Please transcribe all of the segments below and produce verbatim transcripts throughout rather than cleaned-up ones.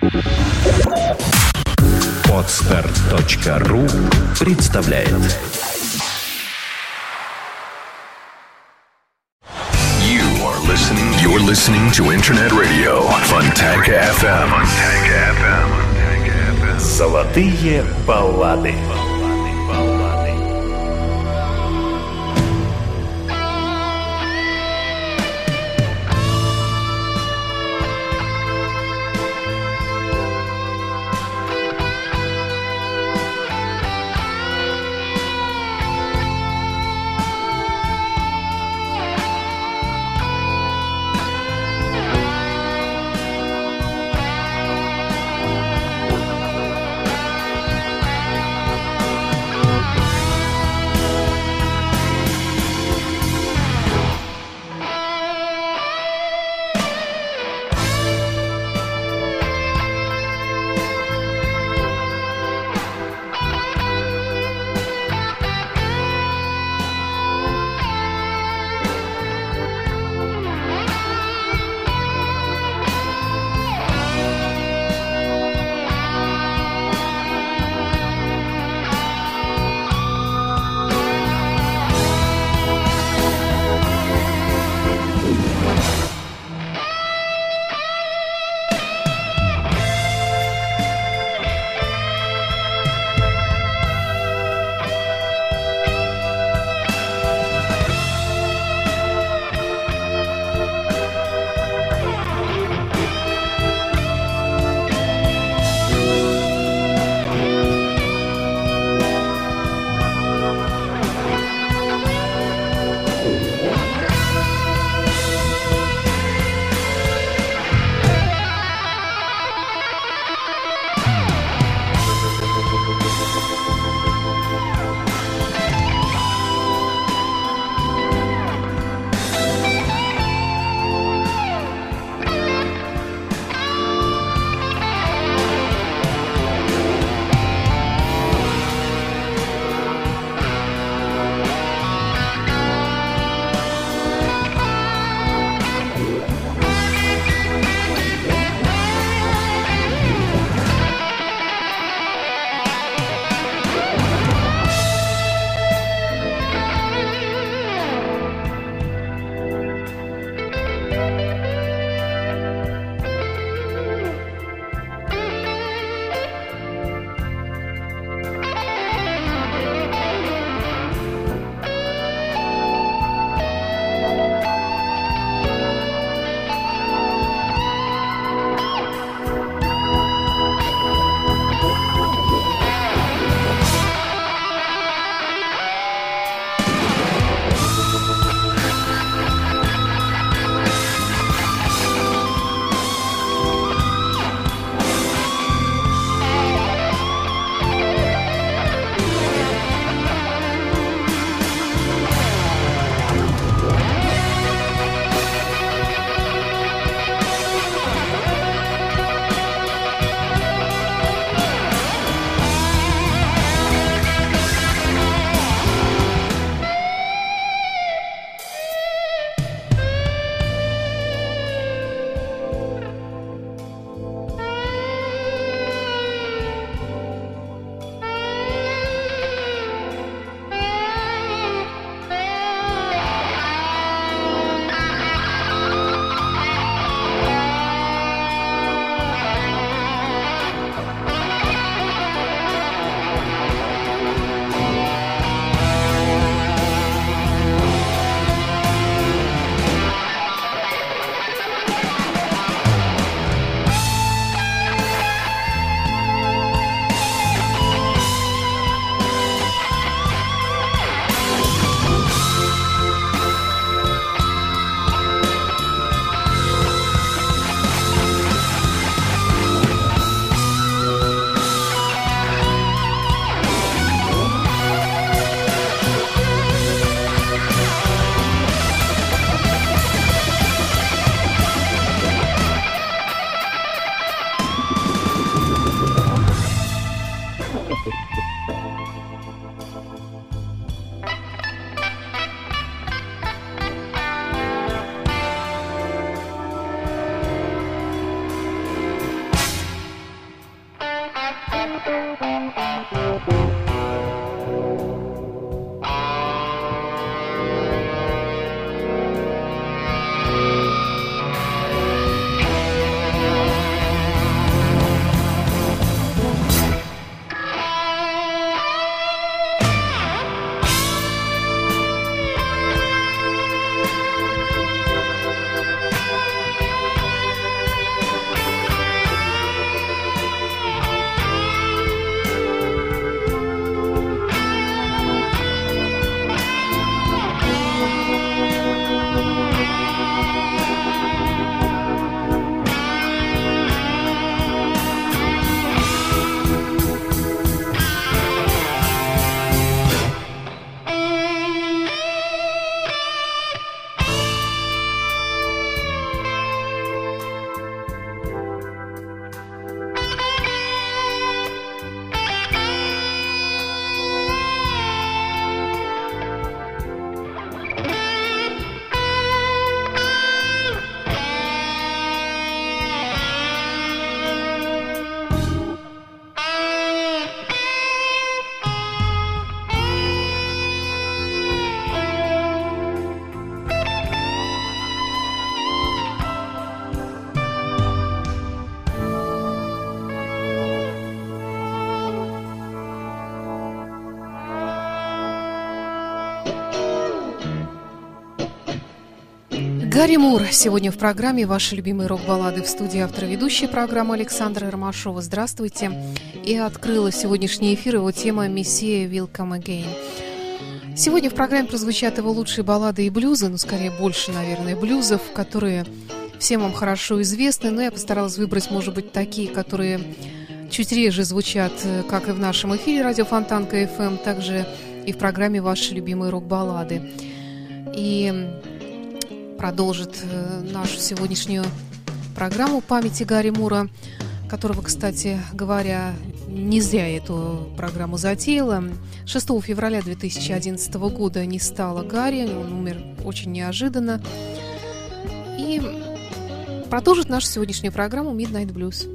Подстар точка ру представляет. You are listening. You're listening to Internet Radio Fontanka эф эм. Fontanka эф эм. Золотые баллады. Гарри Мур сегодня в программе «Ваши любимые рок-баллады», в студии автор ведущей программы Александра Ромашова. Здравствуйте. И открыла сегодняшний эфир его тема «Messiah Will Come Again». Сегодня в программе прозвучат его лучшие баллады и блюзы, ну, скорее, больше, наверное, блюзов, которые всем вам хорошо известны, но я постаралась выбрать, может быть, такие, которые чуть реже звучат, как и в нашем эфире «Радио Фонтанка эф эм», также и в программе «Ваши любимые рок-баллады». И продолжит нашу сегодняшнюю программу памяти Гарри Мура, которого, кстати говоря, не зря эту программу затеяла. шестого февраля две тысячи одиннадцатого года не стало Гарри, он умер очень неожиданно. И продолжит нашу сегодняшнюю программу Midnight Blues.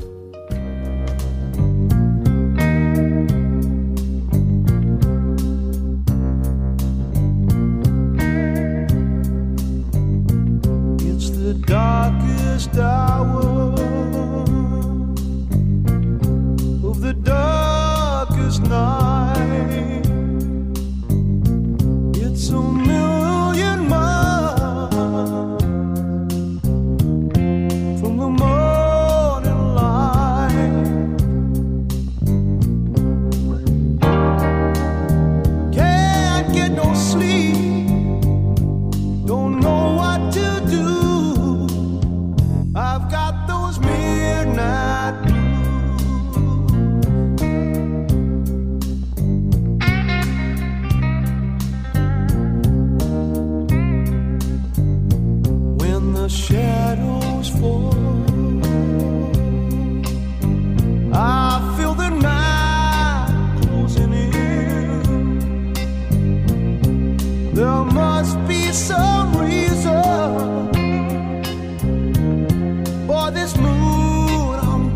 Darkest hour of the darkest night, it's a million miles from the morning light. Can't get no sleep, don't know what to do. I've got those midnight blues. When the shadows fall, I feel the night closing in. There must be some reason for this mood I'm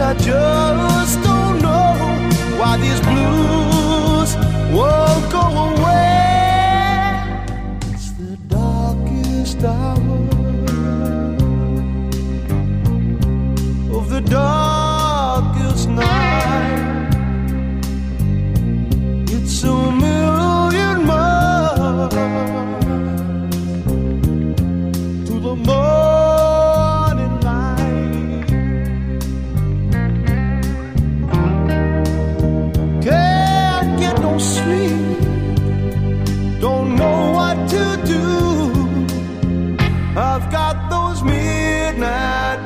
I just don't know why these blues won't go away. It's the darkest hour of the darkest night. It's a million miles to the morning light. Can't get no sleep, don't know what to do. I've got those midnight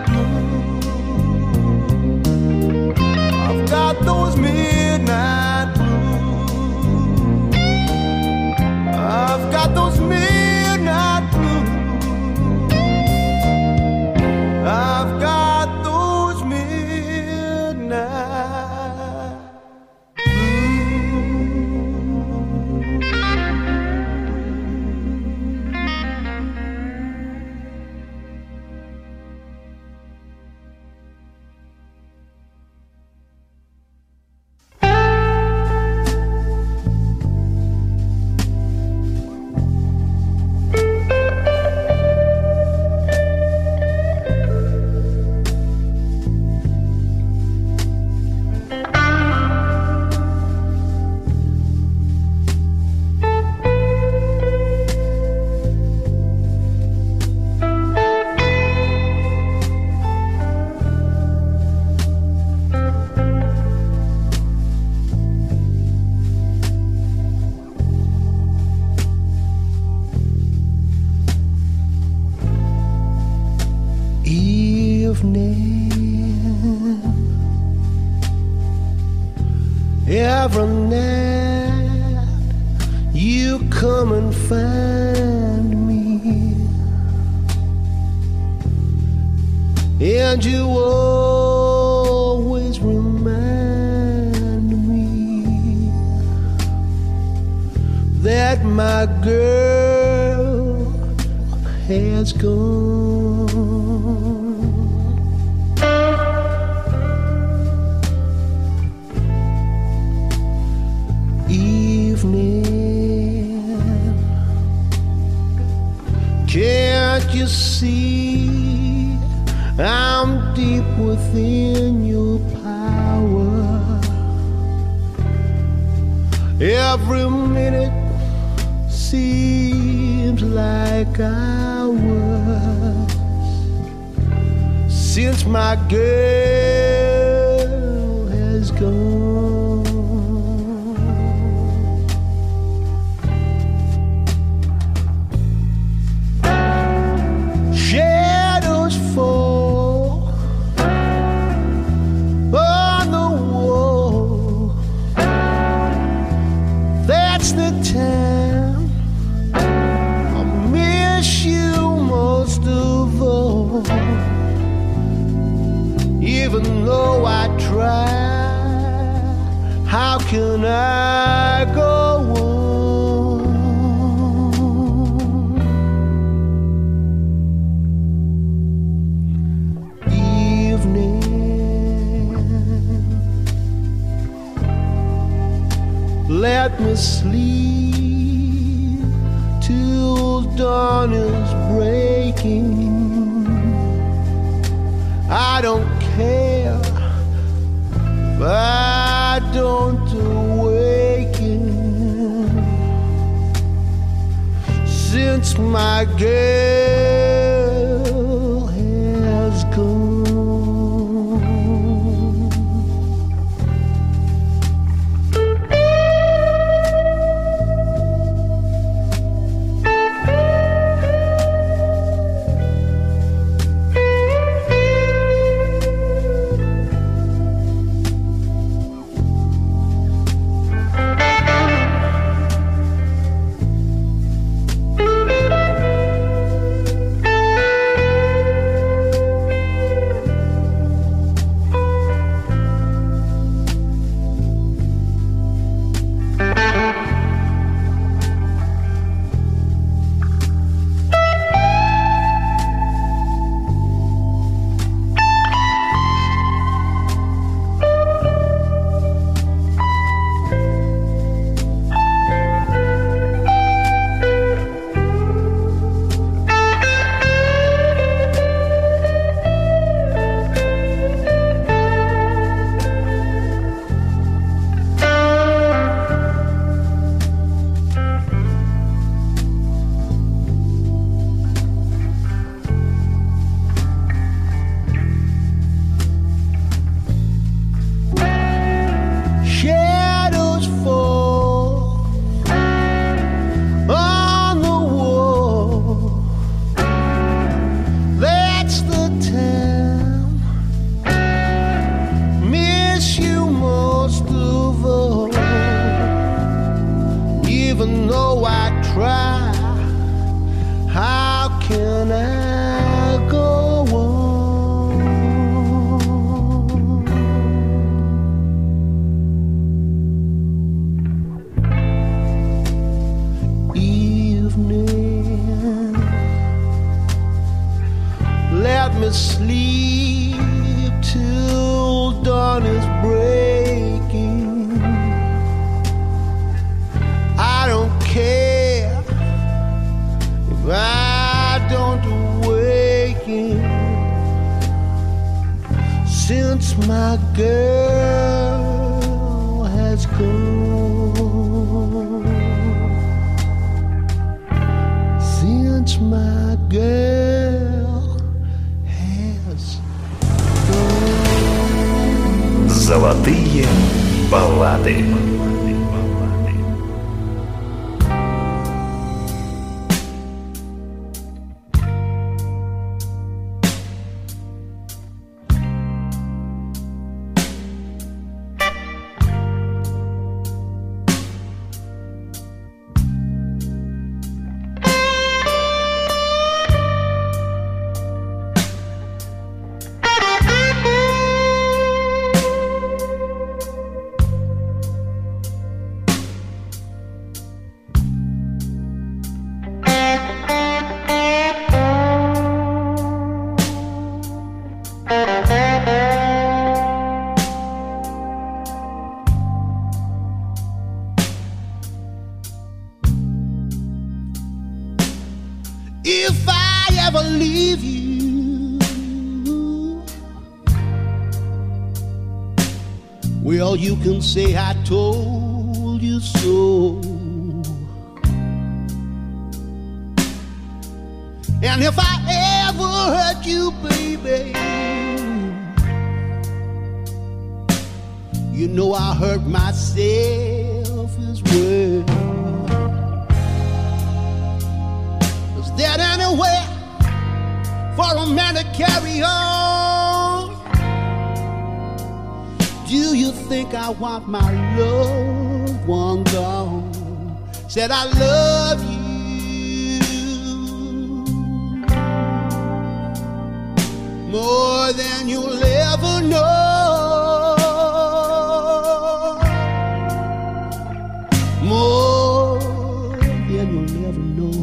blues. I've got those midnight blues. I've got those midnight blues. I've got those midnight evening. Every night you come and find me, and you always remind me that my girl has gone. Evening, can't you see I'm deep within your power? Every minute seems like hours since my girl has gone. Shadows fall on the wall. That's the time I miss you most of all. Even though I try, how can I go on? Evening, let me sleep till dawn is breaking. I don't care if I don't awaken, since my girl has gone. evening. Let me sleep till dawn is breaking. I don't care if I don't awaken, since my girl has gone. Since my girl has gone. Золотые баллады. If I ever leave you, well, you can say I told you so. And if I ever hurt you, baby, you know I hurt myself as well. Is there anywhere for a man to carry on? Do you think I want my loved one gone? Said I love you more than you'll ever know, more than you'll ever know.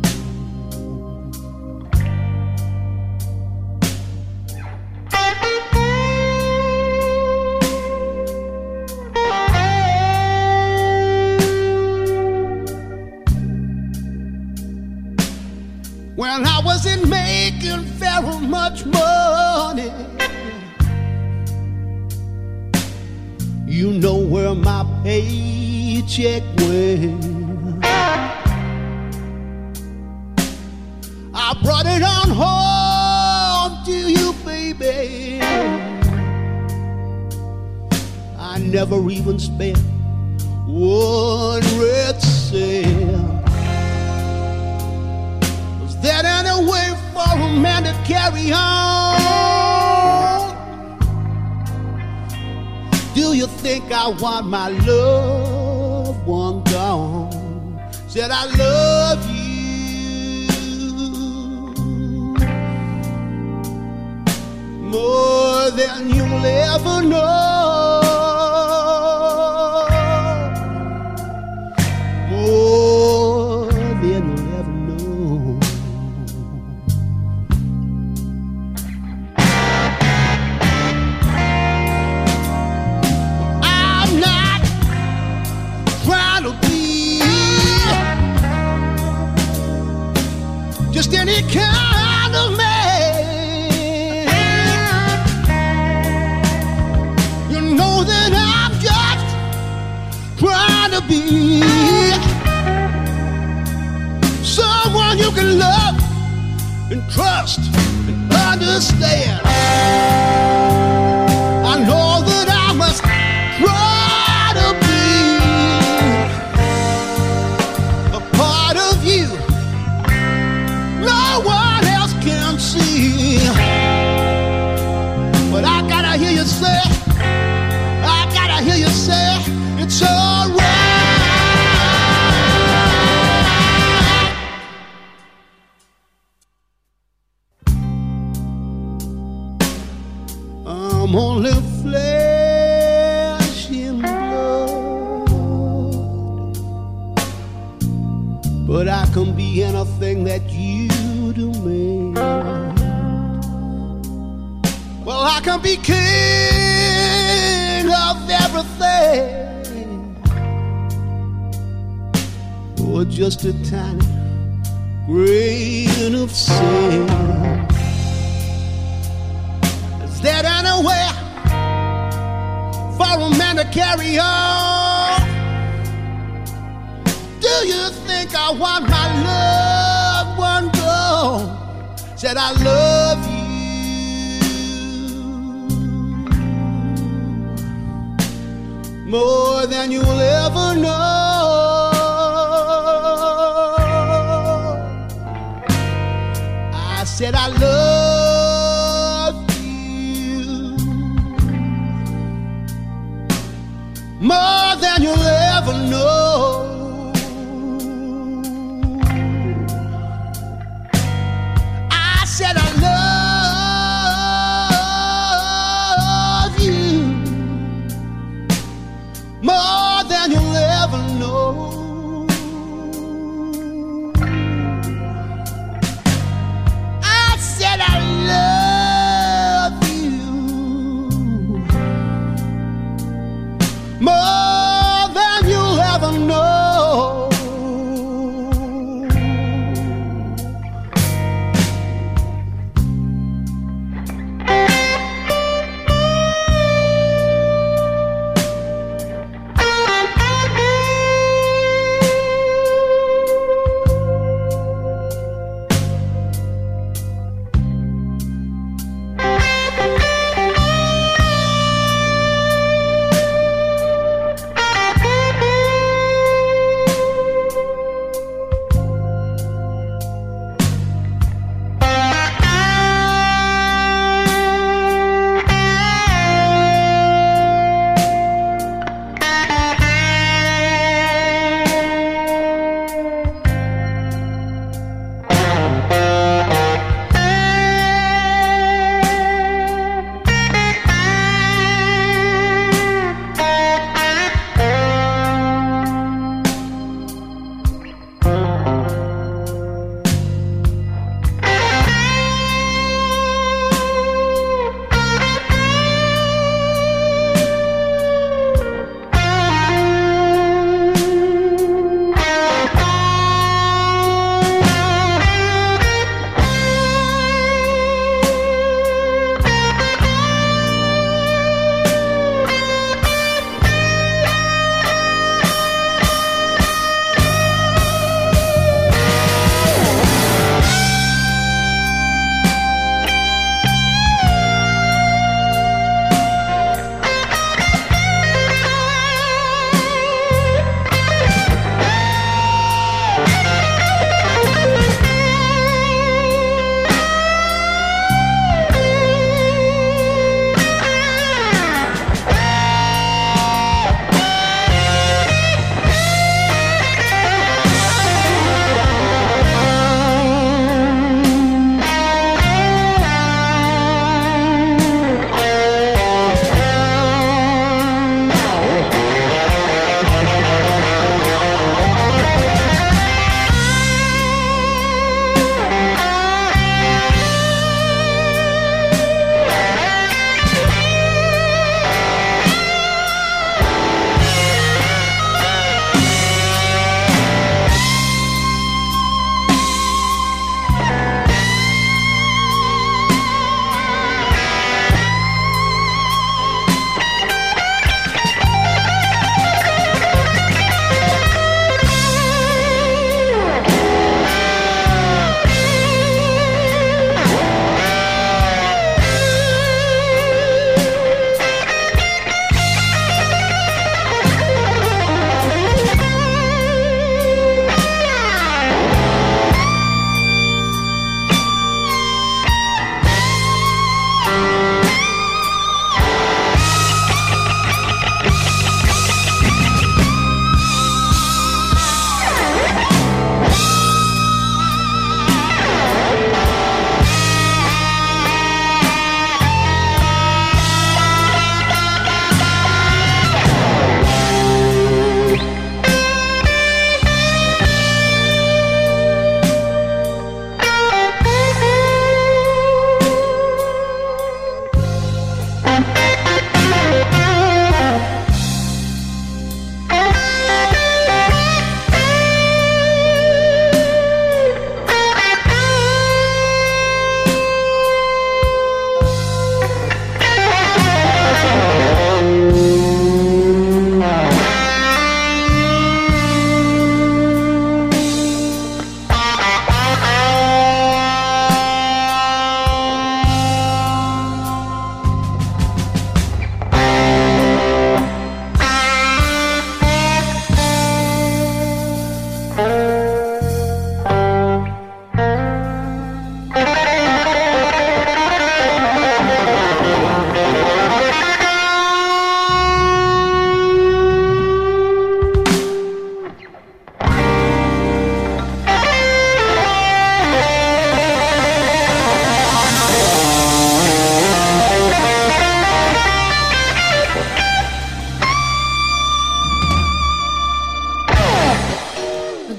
When I wasn't making very much money, you know where my paycheck went. I brought it on home to you, baby. I never even spent one red cent. Was there any way for a man to carry on? Do you think I want my loved one gone? Said I love you more than you'll ever know, more than you'll ever know. I'm not trying to be just any kind of man. You know that I'm just trying to be someone you can love and trust and understand. I know that I must try to be a part of you no one else can see. But I gotta hear you say, I gotta hear you say, it's alright. I'm only flesh and blood. but I can be anything that you demand. Well, I can be king of everything, or just a tiny grain of sand. Is there anywhere for a man to carry on? Do you think I want my loved one gone? Said I love you more than you'll ever know. I said I love you more than you'll ever know. I said I love you more than you'll ever know. I said I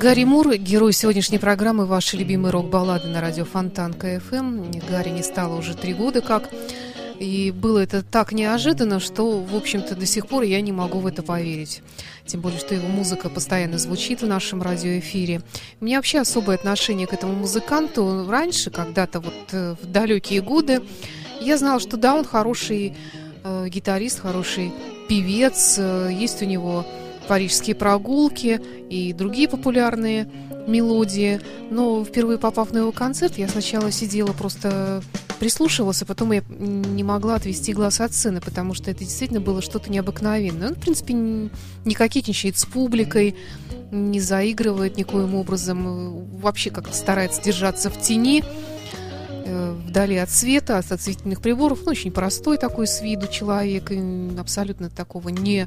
Гарри Мур, герой сегодняшней программы «Ваши любимые рок-баллады» на радио Фонтанка эф эм. Гарри не стало уже три года как. И было это так неожиданно, что, в общем-то, до сих пор я не могу в это поверить. Тем более, что его музыка постоянно звучит в нашем радиоэфире. У меня вообще особое отношение к этому музыканту. Раньше, когда-то вот в далекие годы, я знала, что да, он хороший э, гитарист, хороший певец. Есть у него «Парижские прогулки» и другие популярные мелодии. Но впервые попав на его концерт, я сначала сидела, просто прислушивалась, а потом я не могла отвести глаз от сцены, потому что это действительно было что-то необыкновенное. Он, в принципе, не кокетничает с публикой, не заигрывает никоим образом, вообще как-то старается держаться в тени, вдали от света, от осветительных приборов. Ну, очень простой такой с виду человек, абсолютно такого не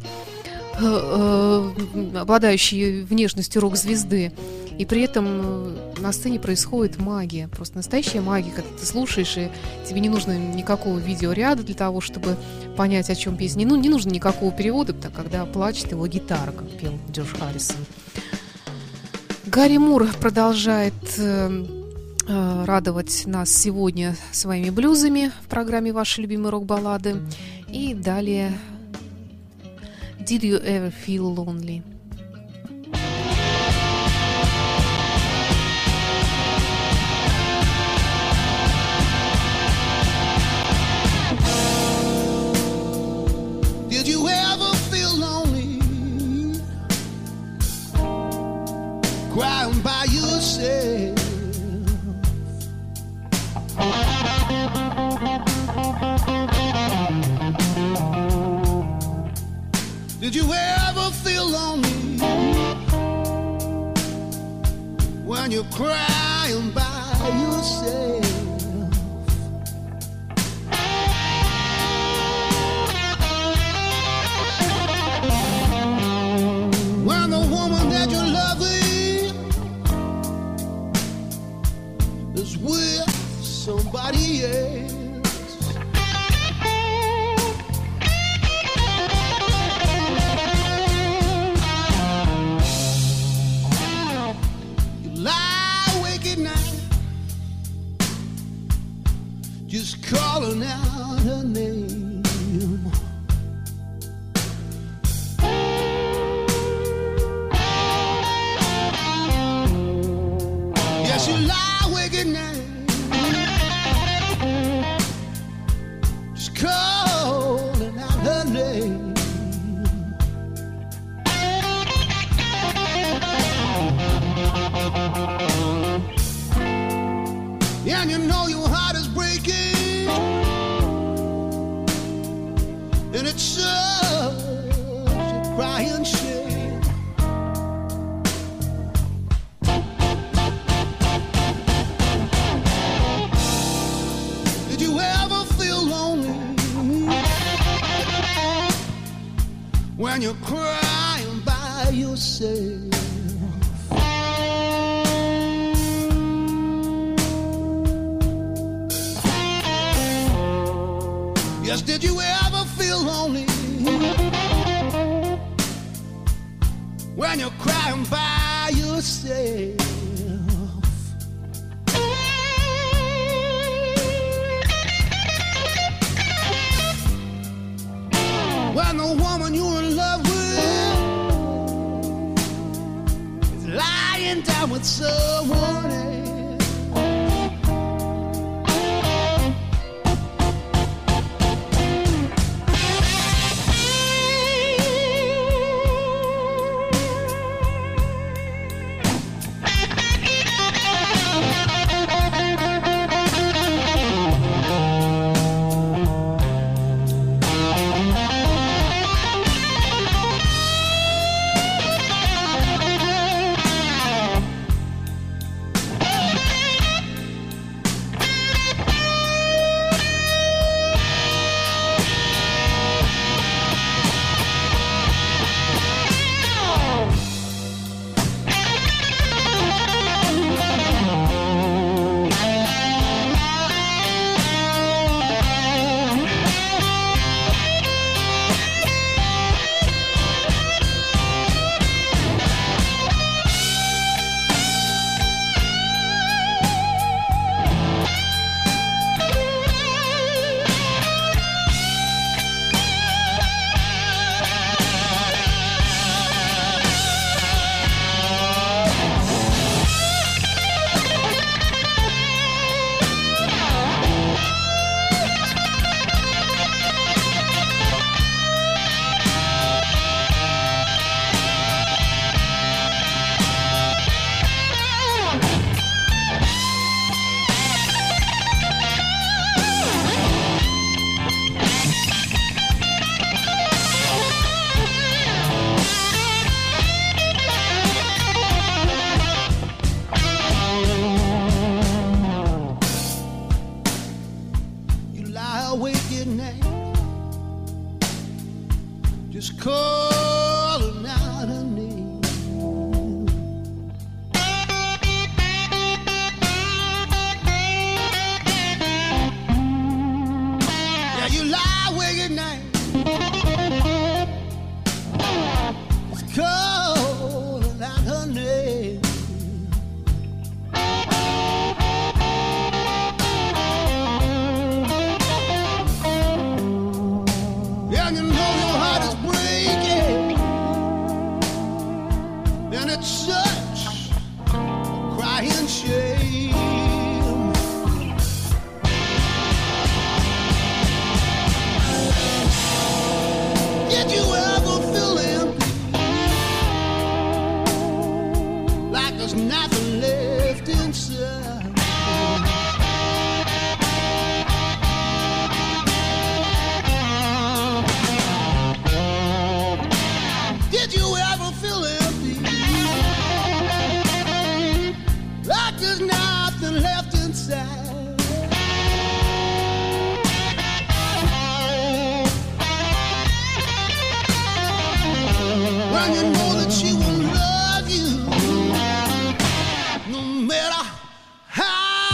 обладающий внешностью рок-звезды. И при этом на сцене происходит магия, просто настоящая магия, когда ты слушаешь, и тебе не нужно никакого видеоряда для того, чтобы понять, о чем песня. Ну, не нужно никакого перевода, когда плачет его гитара, как пел Джордж Харрисон. Гарри Мур продолжает э, э, радовать нас сегодня своими блюзами в программе «Ваши любимые рок-баллады». И далее «Did you ever feel lonely?» Did you ever feel lonely, crying by yourself? Did you ever feel lonely when you're crying by yourself? When the woman that you're loving is with somebody else. Just calling out her name. Yes, you lie awake at night, just calling out her name. And you know your heart is breaking, and it's such a crying shame. Did you ever feel lonely when you're crying by yourself? Yes, did you ever feel lonely when you're crying by yourself? When the woman you're in love with is lying down with someone else.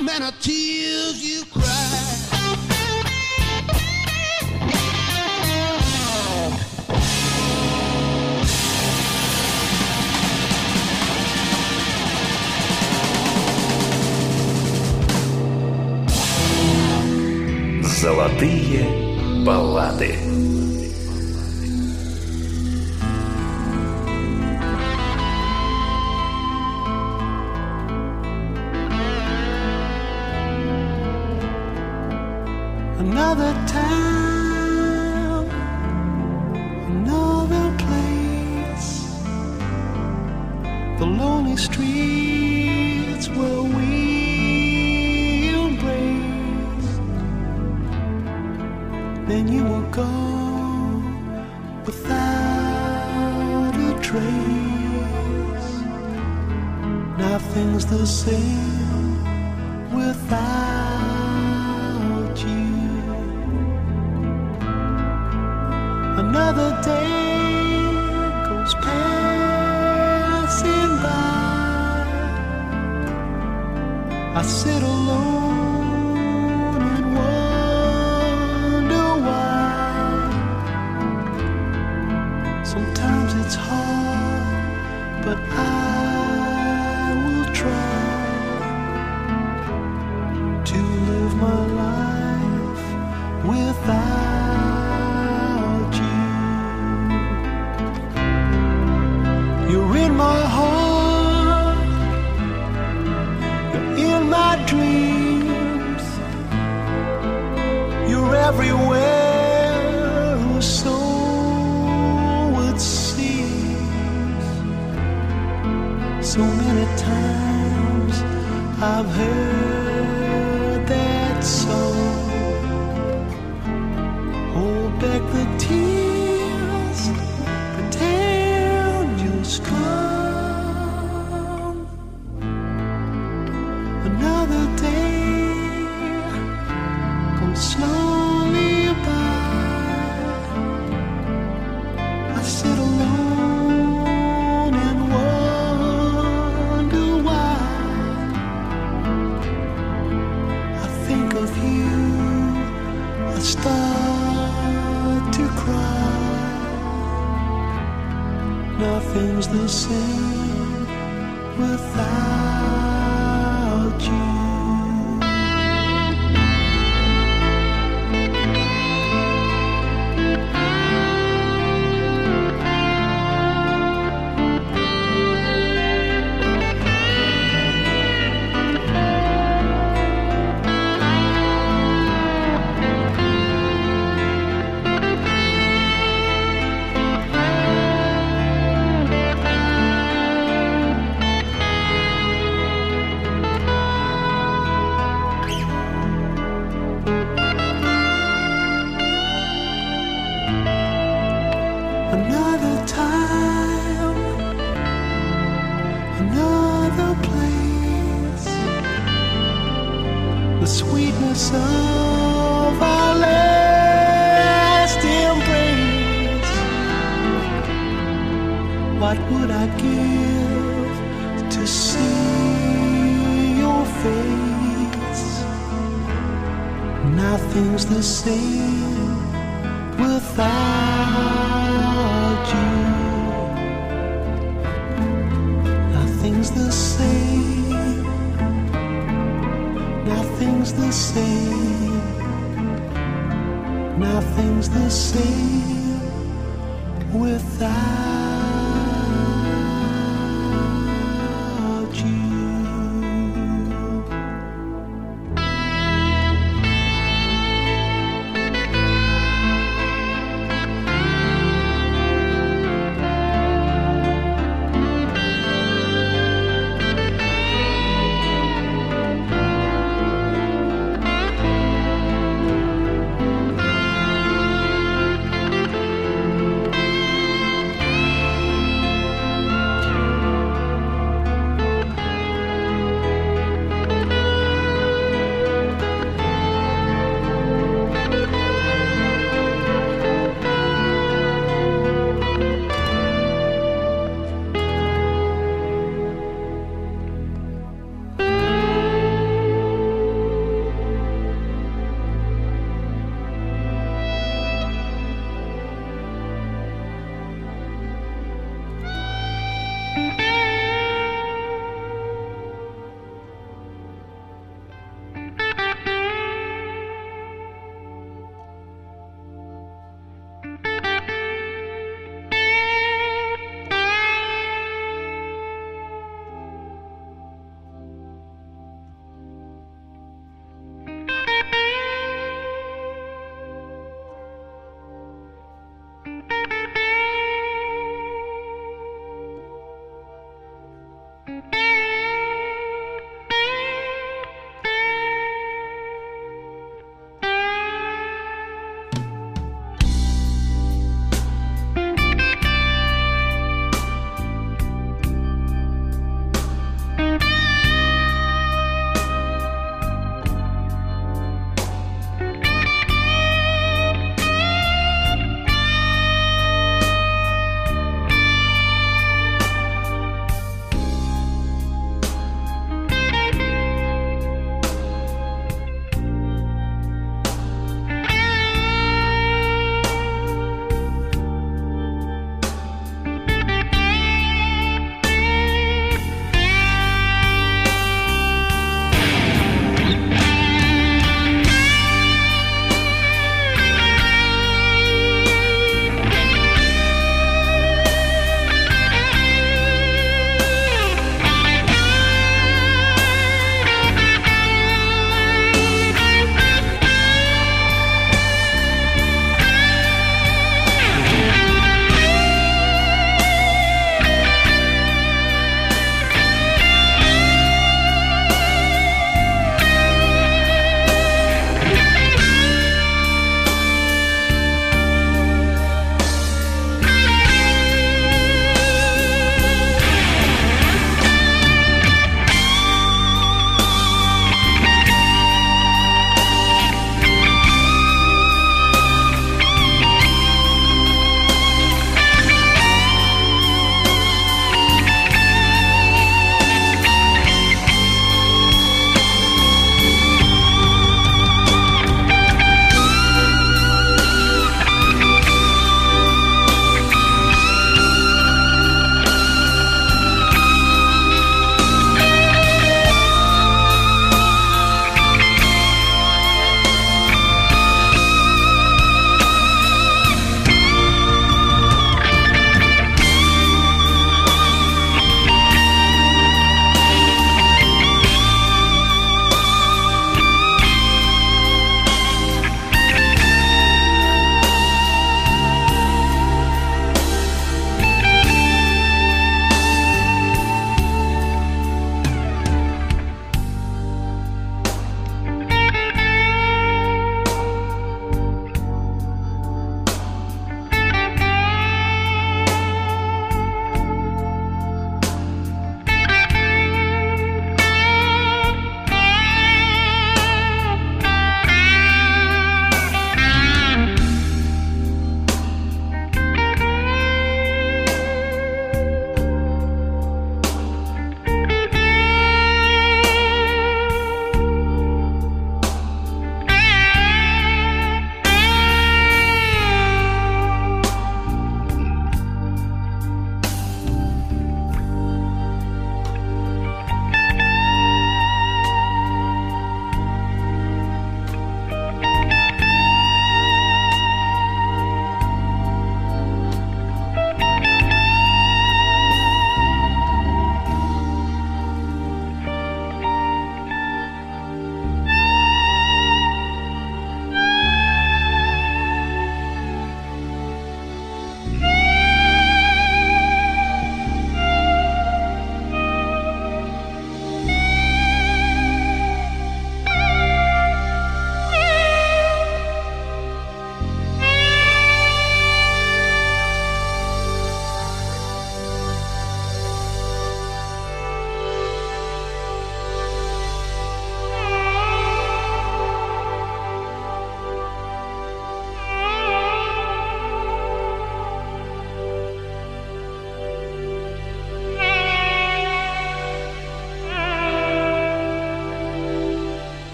many tears you cried. Золотые баллады. Another town, another place, the lonely streets where we embraced. Then you were gone without a trace. Nothing's the same without you. Another day goes passing by. I sit alone and wonder why. Sometimes it's hard, but I will try to live my life without. You're in my heart, you're in my dreams, you're everywhere, or so it seems. So many times I've heard that song. Hold back the tears, pretend you're strong. Another day comes slowly by. I sit alone and wonder why. I think of you, I start to cry. Nothing's the same without you. Another time, another place, the sweetness of our last embrace. What would I give to see your face? Nothing's the same without you. Nothing's the same. Nothing's the same. Nothing's the same without you.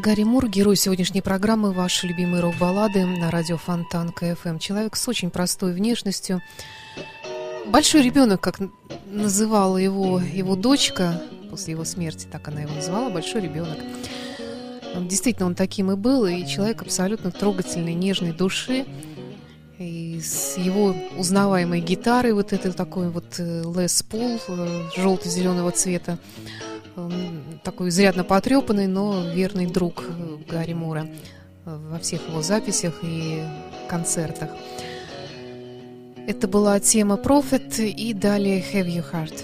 Гарри Мур, герой сегодняшней программы, ваши любимые рок-баллады на радио Фонтан КФМ. Человек с очень простой внешностью. Большой ребенок, как называла его его дочка, после его смерти, так она его называла, большой ребенок. Действительно, он таким и был, и человек абсолютно трогательной, нежной души. И с его узнаваемой гитарой, вот этой такой вот Лес Пол желто-зеленого цвета, такой изрядно потрепанный, но верный друг Гарри Мура во всех его записях и концертах. Это была тема Prophet и далее Have Your Heart.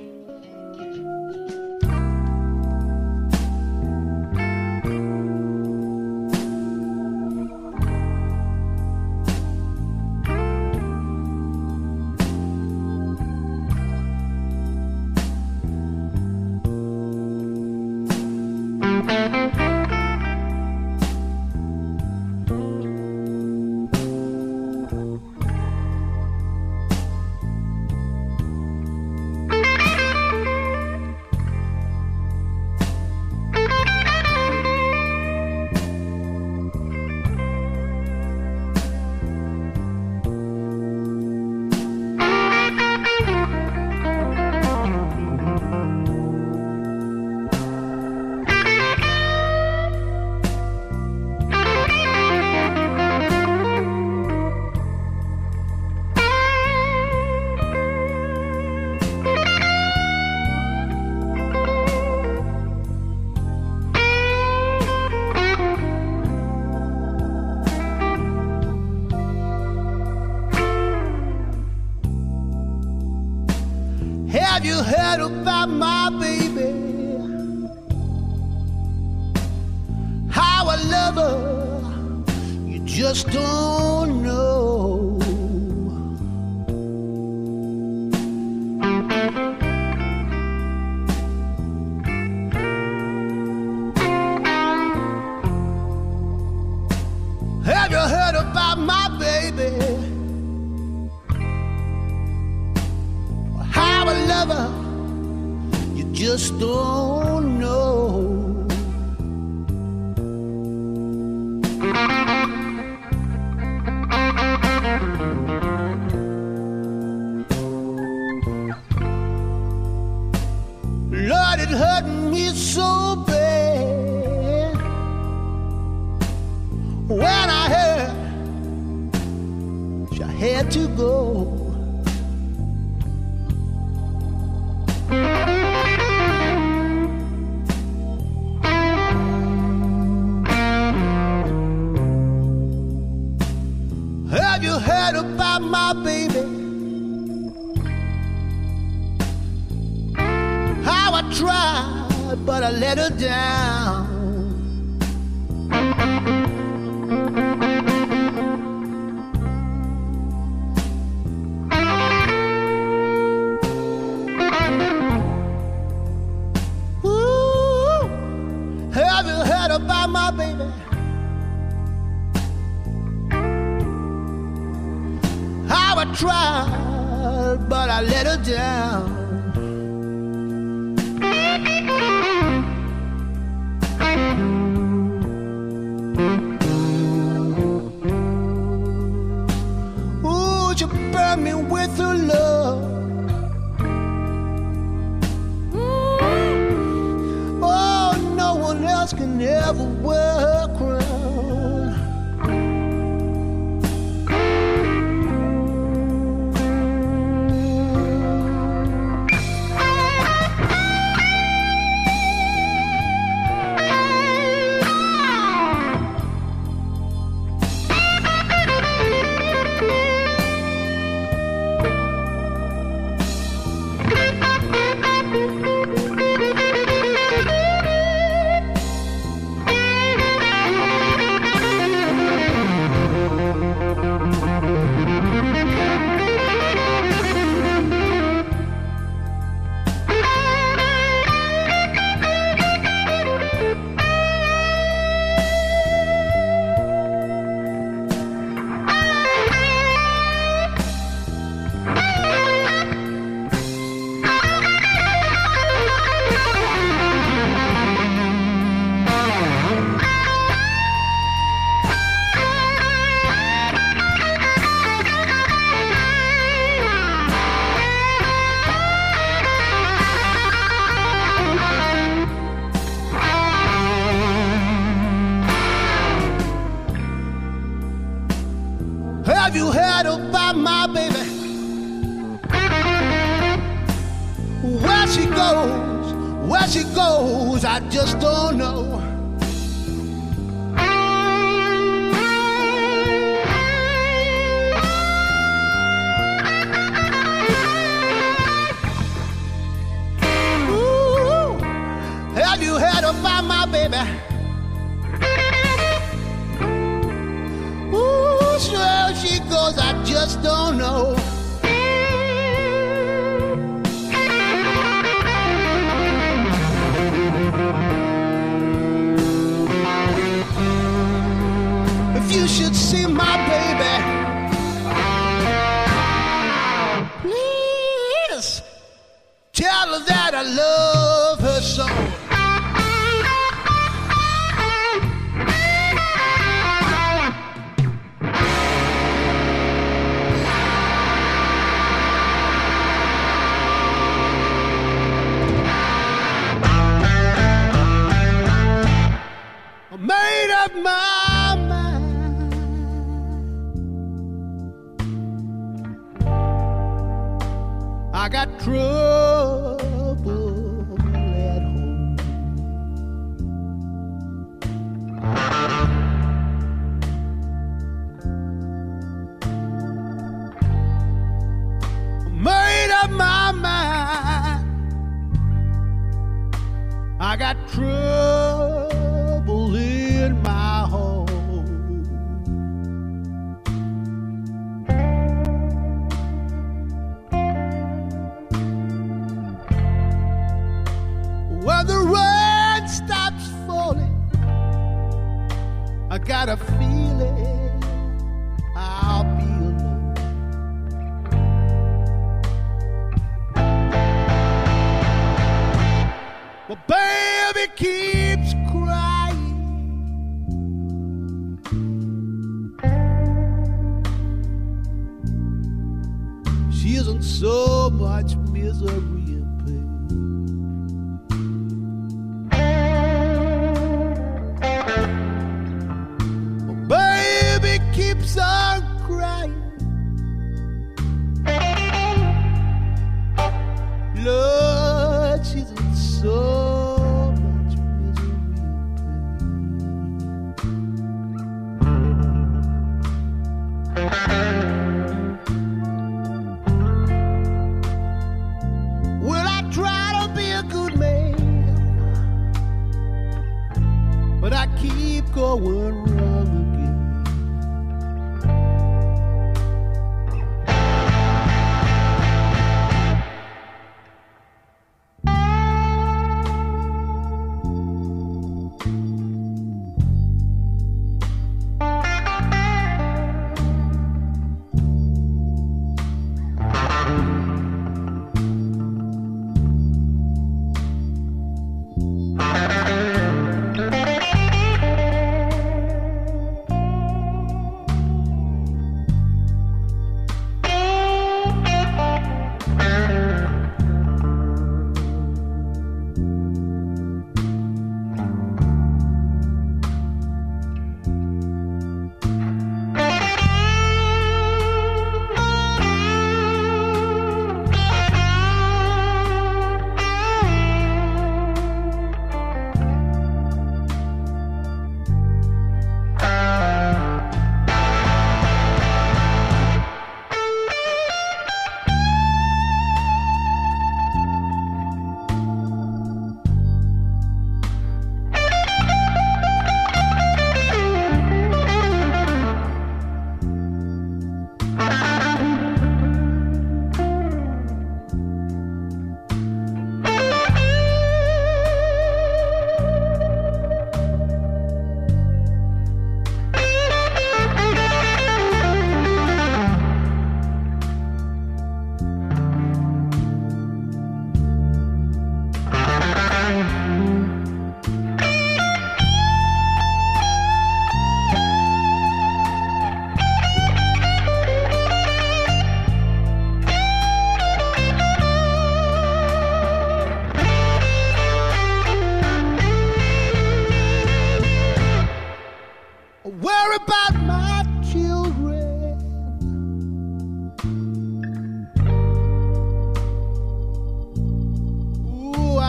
Have you heard about my baby? How I love her, you just don't know. Have you heard about my baby? How I love her, you just don't know. Lord, it hurt me so bad when I heard she had to go. Have you heard about my baby? How I tried, but I let her down. Ooh, have you heard about my baby? I tried, but I let her down. Ooh, she burned me with her love. Mm. Oh, no one else can ever wear her crown. she goes, where she goes, I just don't know. Ooh, have you heard about my baby? Ooh, where she goes, I just don't know. You should see my baby. Please tell her that I love her so. I made up my mind. I got trouble at home. Made up my mind. I got trouble in my home. When the rain stops falling, I got a feeling I'll be alone. Well, baby keeps crying. She isn't so much misery. Keeps on crying. Lord, she's in so much misery and pain.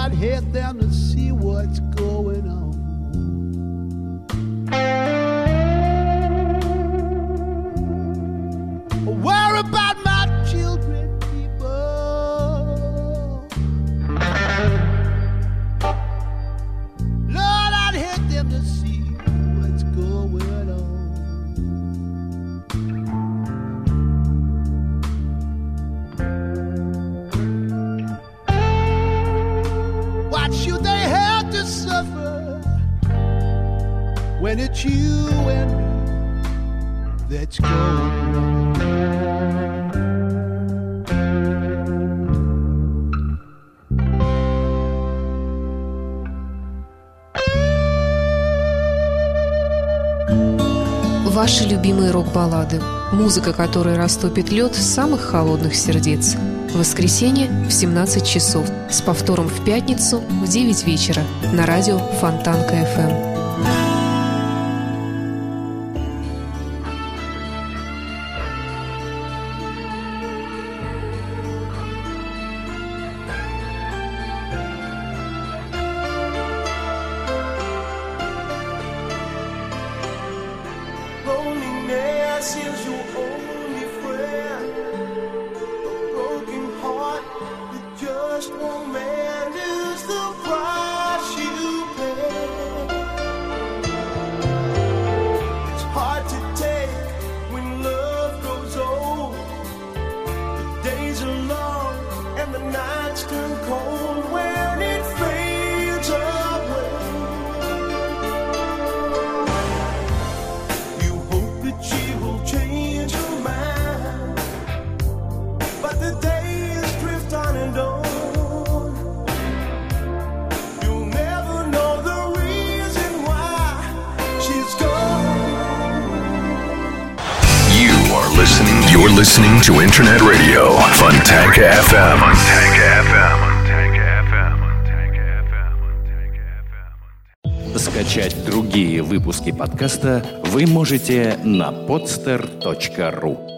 I'd hate them to see what's going on. Worry about my children, people. Lord, I'd hate them to see what's going on. What should they have to suffer when it's you and me that's going on? Ваши любимые рок-баллады. Музыка, которая растопит лед самых холодных сердец. В воскресенье в семнадцать часов. С повтором в пятницу в девять вечера. На радио Фонтанка эф эм. Loneliness is your only friend. A broken heart that just won't mend is the price you pay. It's hard to take when love grows old. The days are long and the nights turn cold when it fades away. She will change her mind, but the days drift on and on. You'll never know the reason why she's gone. You are listening. You're listening to Internet Radio Fontanka эф эм. Fontanka эф эм. Скачать другие выпуски подкаста вы можете на podster точка ру.